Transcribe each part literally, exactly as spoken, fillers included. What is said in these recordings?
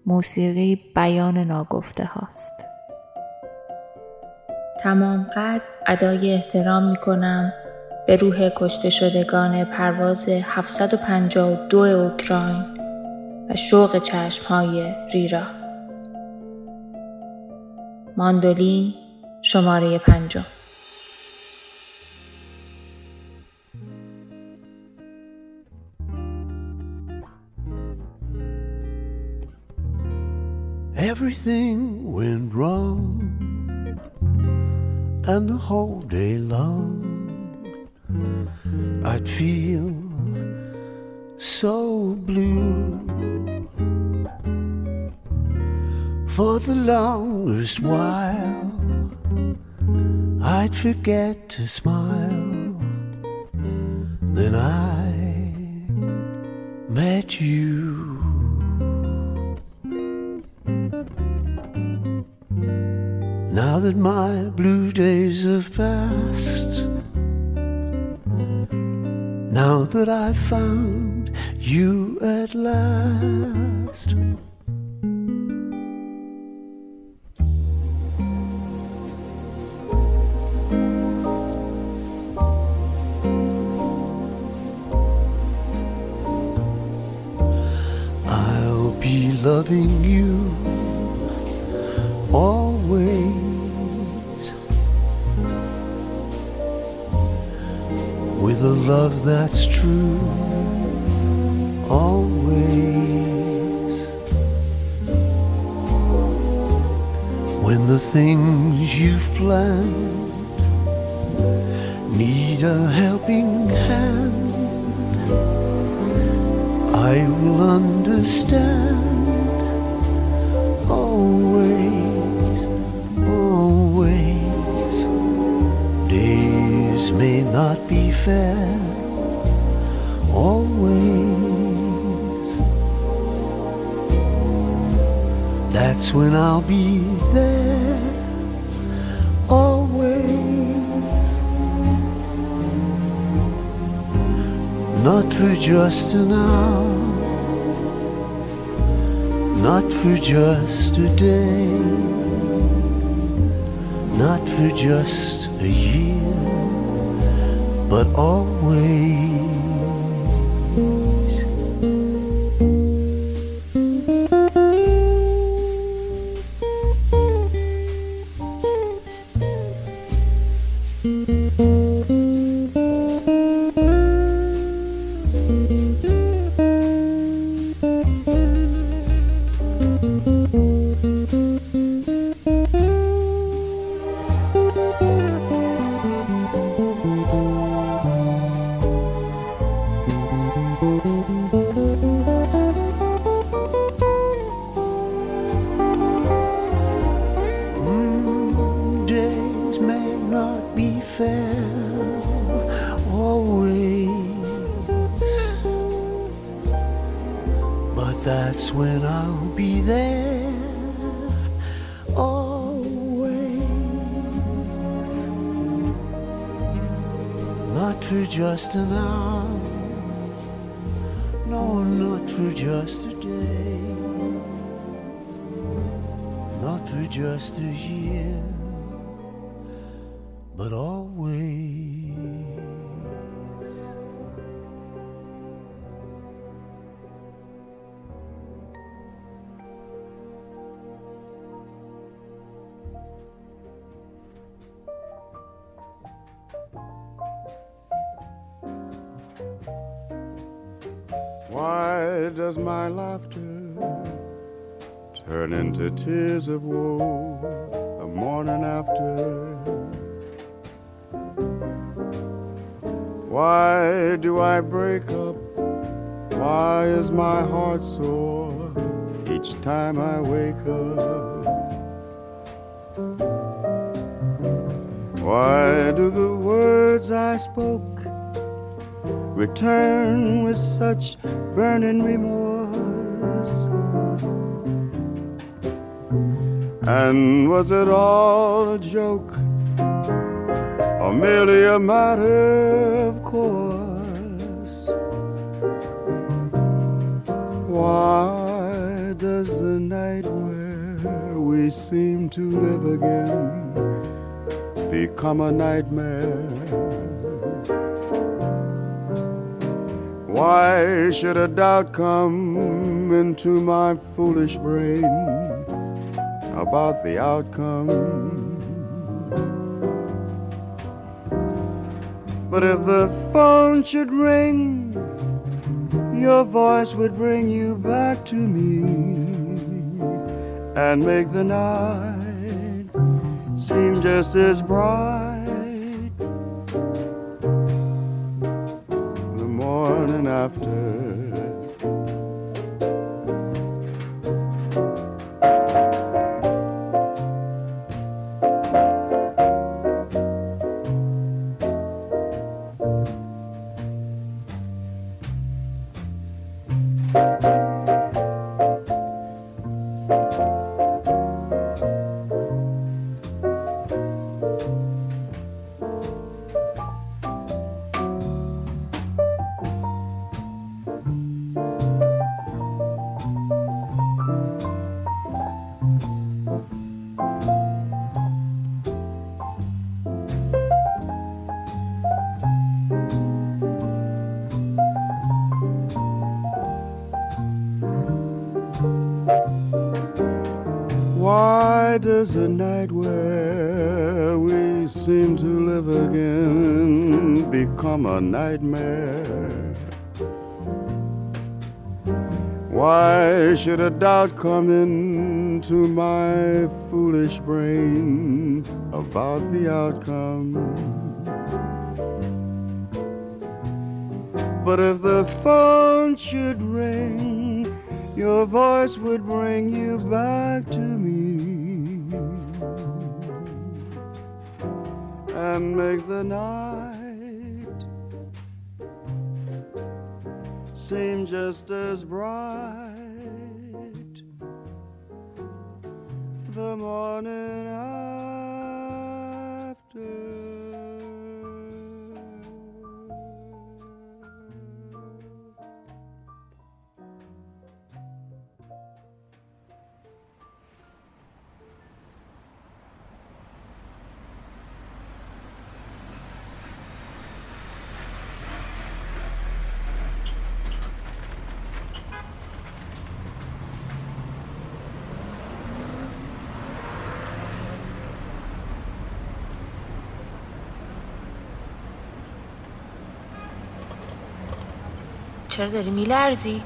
موسیقی بیان ناگفته هاست. تمام قد ادای احترام می کنم به روح کشته شدگان پرواز هفتصد و پنجاه و دو اوکراین و شوق چشمهای ریرا. ماندولین شماره پنجم. Everything went wrong, and the whole day long I'd feel so blue. For the longest while I'd forget to smile. Then I met you. Now that my blue days have passed, now that I've found you at last, I'll be loving you always, with a love that's true, always. When the things you've planned need a helping hand, I will understand, always, always. Days may not be fair, always. That's when I'll be there, always. Not for just an hour, not for just a day, not for just a year, but always. That's when I'll be there, always. Not for just an hour, no, not for just a day, not for just a year, but always. Why does my laughter turn into tears of woe the morning after? Why do I break up? Why is my heart sore each time I wake up? Why do the words I spoke return with such burning remorse? And was it all a joke, or merely a matter of course? Why does the night we seem to live again become a nightmare? Why should a doubt come into my foolish brain about the outcome? But if the phone should ring, your voice would bring you back to me and make the night seem just as bright the morning after. Why does a night where we seem to live again become a nightmare? Why should a doubt come into my foolish brain about the outcome? But if the phone should ring, your voice would bring you back to me and make the night seem just as bright the morning after. چرا داری میلرزی؟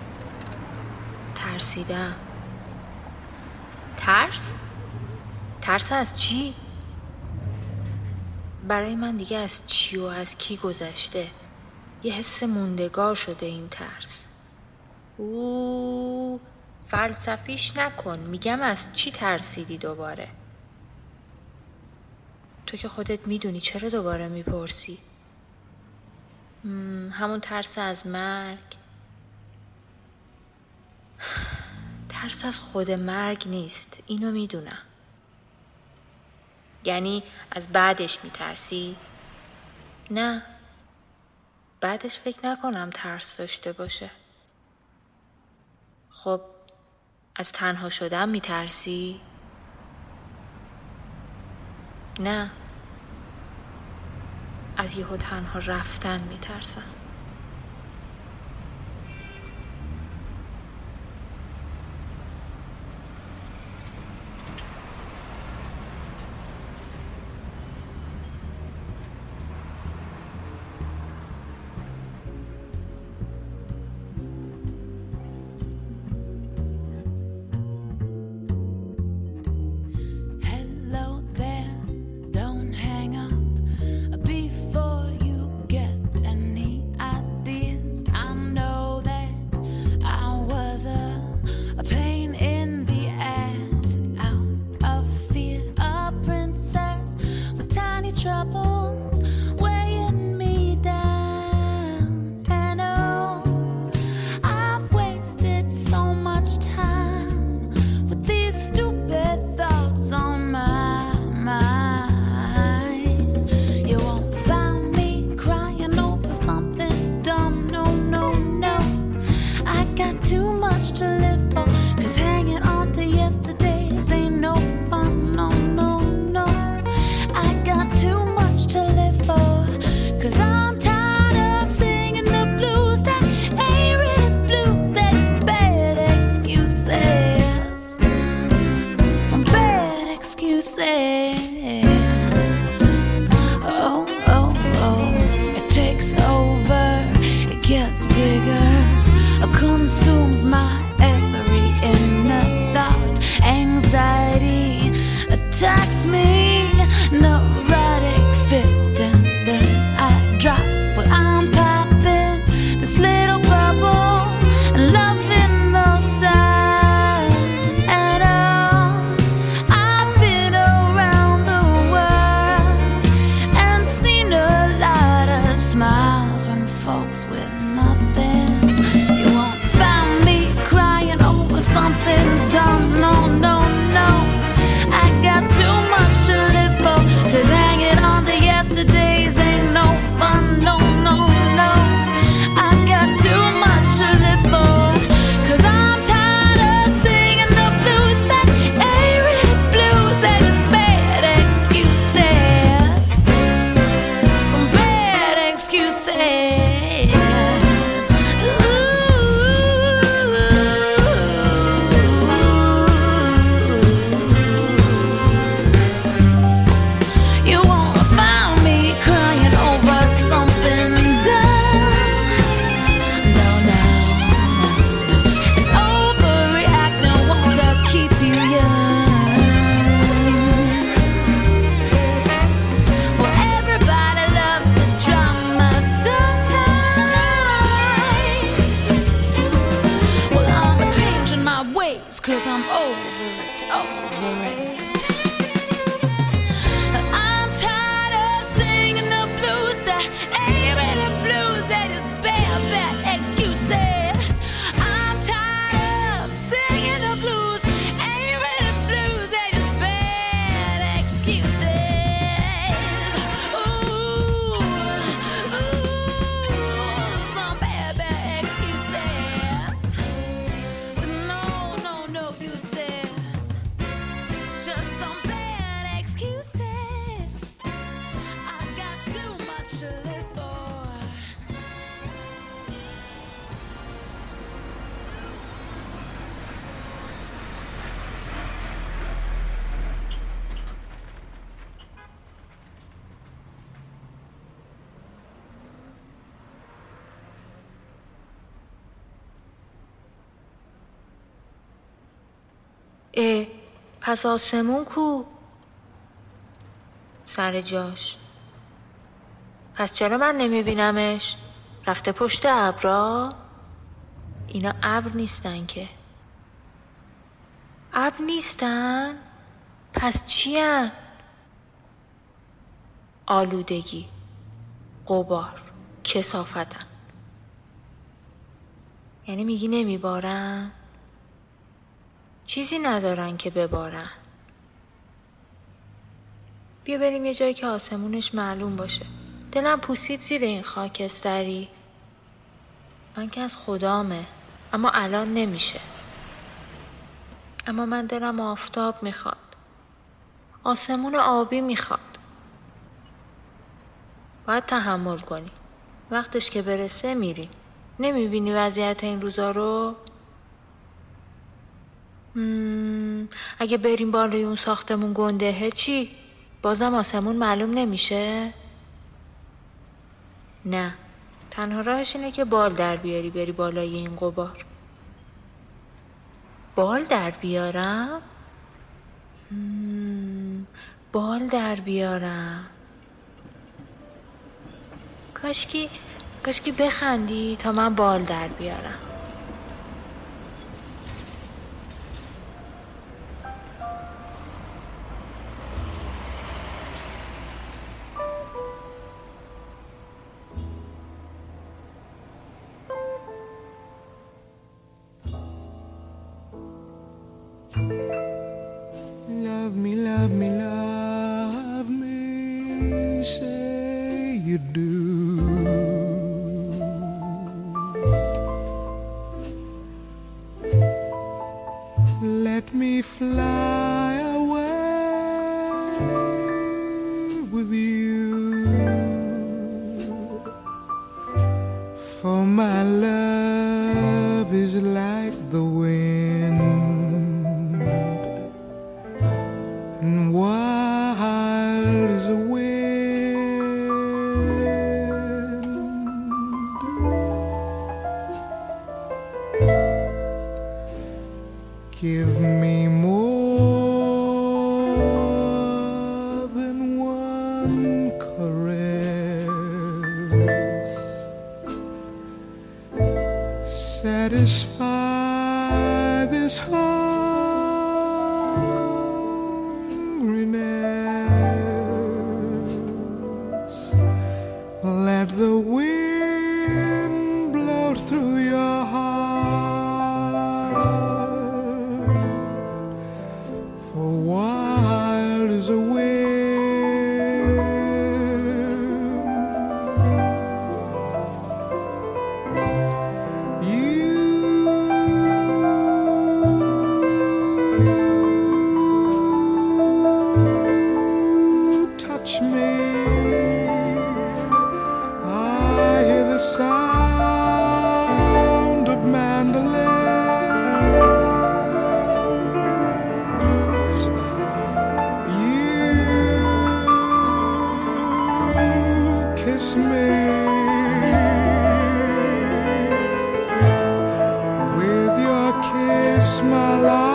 ترسیدم. ترس؟ ترس از چی؟ برای من دیگه از چی و از کی گذشته. یه حس موندگار شده این ترس. اوه فلسفیش نکن. میگم از چی ترسیدی دوباره؟ تو که خودت میدونی، چرا دوباره میپرسی؟ همون ترس از مرگ. ترس از خود مرگ نیست، اینو میدونم. یعنی از بعدش میترسی؟ نه، بعدش فکر نکنم ترس داشته باشه. خب از تنها شدن میترسی؟ نه، از یهو تنها رفتن میترسم. Before you get any consumes my every inner thought. Anxiety attacks me, neurotic fit, and then I drop. But I'm popping this little bubble and loving the sun. And oh, I've been around the world and seen a lot of smiles from folks with nothing. You won't find me crying over something dumb, no, no, no. I got too much to live for, 'cause hanging on to yesterdays ain't no fun, no, no, no. I got too much to live for, 'cause I'm tired of singing the blues that ain't really blues, that is bad excuses, some bad excuses. Cause I'm over it, over it. I'm tired of singing the blues that ain't really blues, that is bad, bad excuses. I'm tired of singing the blues, ain't really blues, that is bad excuses. Ooh, ooh, some bad, bad excuses. No, no, no excuses, just some bad excuses. I've got too much to live for. اه، پس آسمون کو؟ سر جاش. پس چرا من نمیبینمش؟ رفته پشت ابرا؟ اینا ابر نیستن که. ابر نیستن؟ پس چی هن؟ آلودگی، غبار، کثافتن. یعنی میگی نمیبارن؟ چیزی ندارن که ببارن. بیا بریم یه جایی که آسمونش معلوم باشه. دلم پوسید زیر این خاکستری. من که از خدامه، اما الان نمیشه. اما من دلم آفتاب میخواد، آسمون آبی میخواد. باید تحمل کنی، وقتش که برسه میریم. نمیبینی وضعیت این روزا رو؟ مم، اگه بریم بالای اون ساختمون گندهه چی؟ بازم آسمون معلوم نمیشه؟ نه، تنها راهش اینه که بال در بیاری بری بالای این غبار. بال در بیارم؟ مم، بال در بیارم. کاشکی کاشکی بخندی تا من بال در بیارم. Love me, love me, love me, say you do. Let me fly away with you, for my love is like the wind, and wild as a wind. Give me more than one caress. Satisfy this hungriness. Let the wind blow through your heart. For wild is a wind. Sound of mandolins. You kiss me with your kiss, my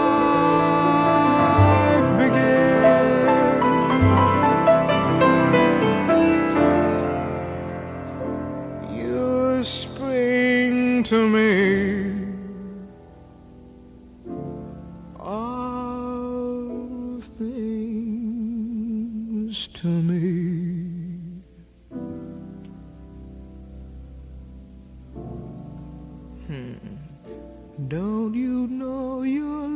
life begins. You're spring to me, all things to me. Hmm. Don't you know your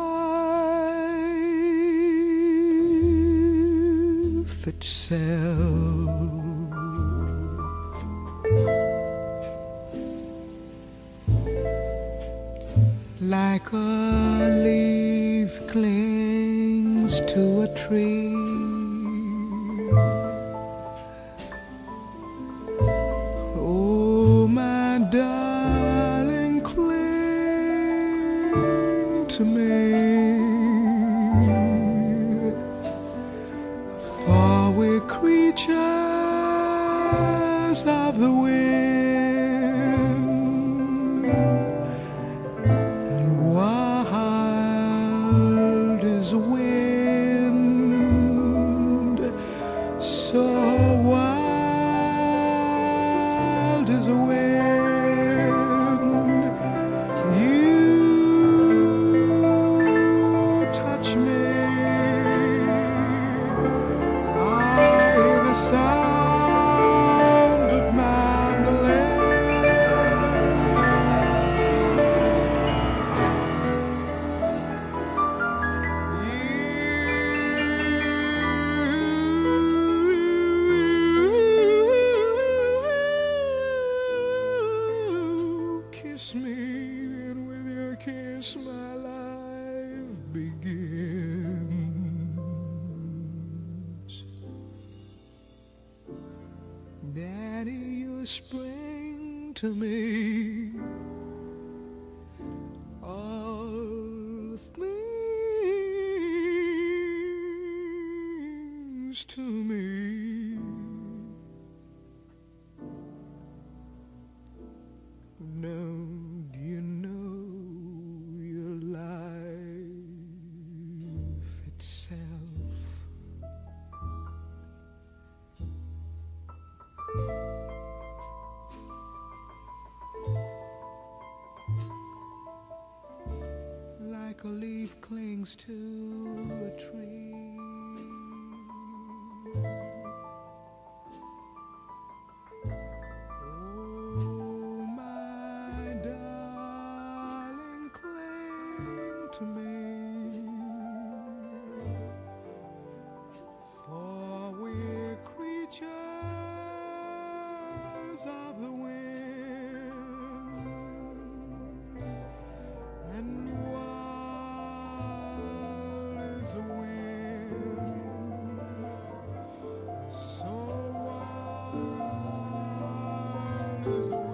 life itself? Like a leaf clings to a tree, oh my darling, cling to me, for we're creatures of the wind. So wild as a wind, you touch me. I hear the sound of kiss me, and with your kiss my life begins. Daddy, you spring to me, all things to me. Don't you know your life itself? Like a leaf clings to a tree, to me, for we're creatures of the wind, and wild is the wind, so wild is the wind.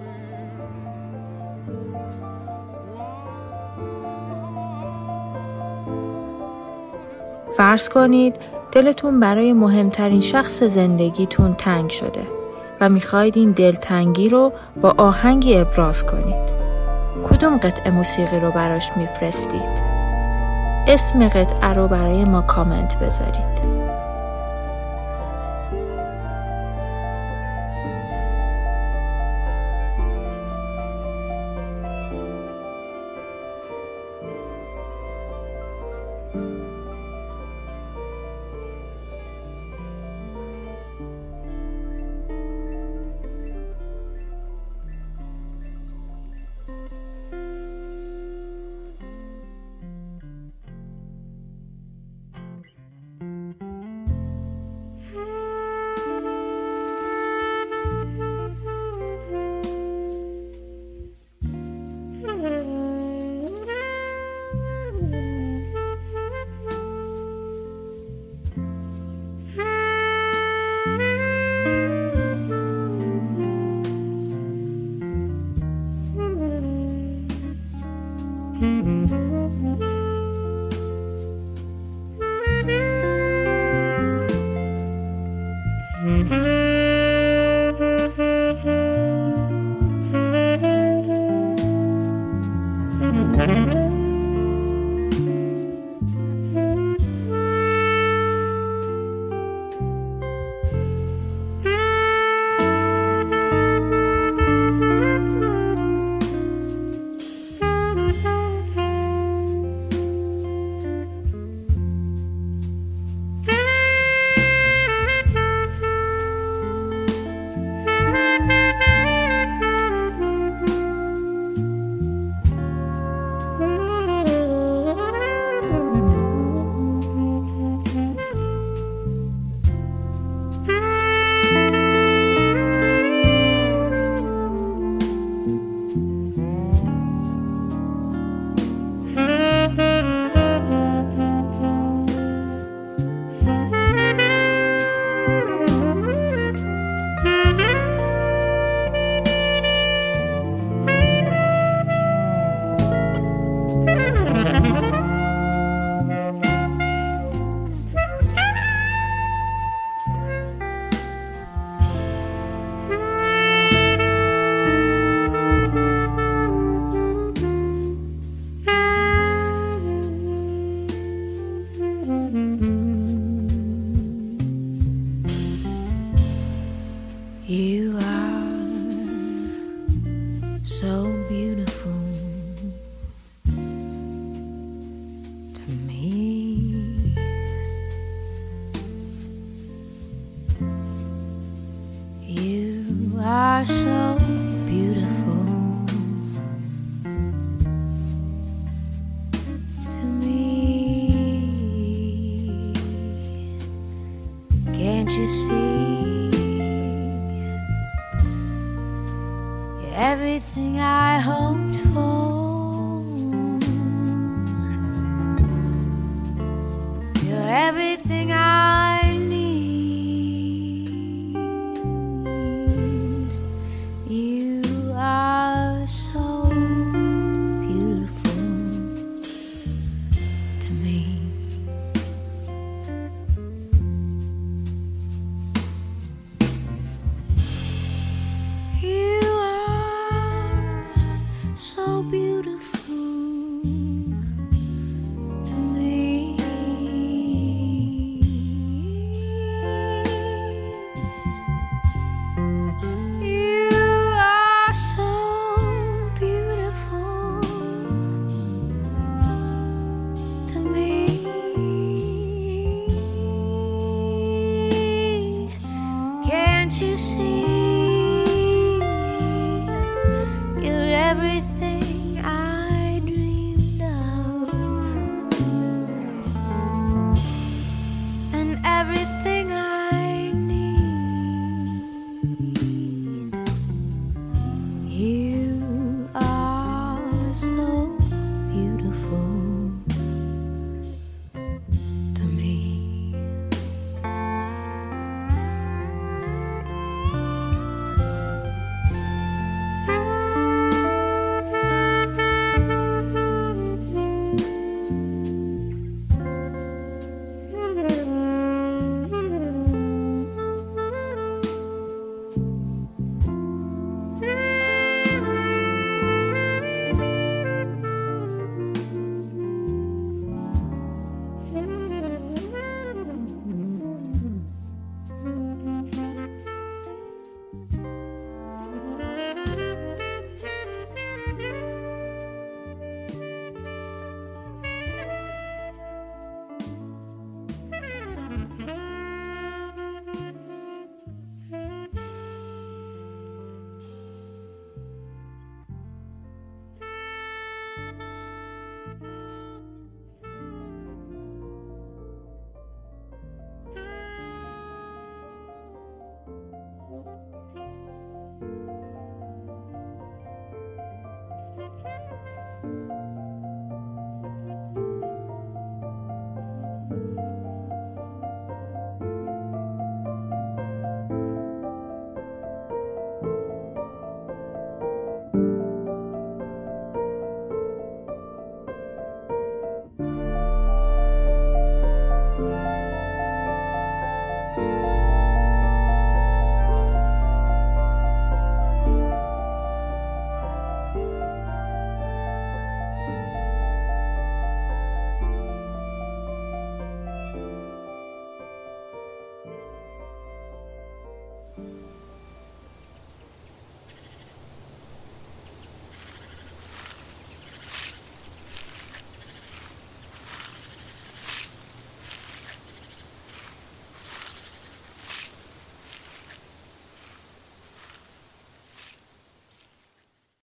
فرض کنید دلتون برای مهمترین شخص زندگیتون تنگ شده و میخواید این دلتنگی رو با آهنگی ابراز کنید. کدوم قطعه موسیقی رو براش میفرستید؟ اسم قطعه رو برای ما کامنت بذارید. You are so beautiful to me. You are so beautiful to me. Can't you see? Everything I hoped for,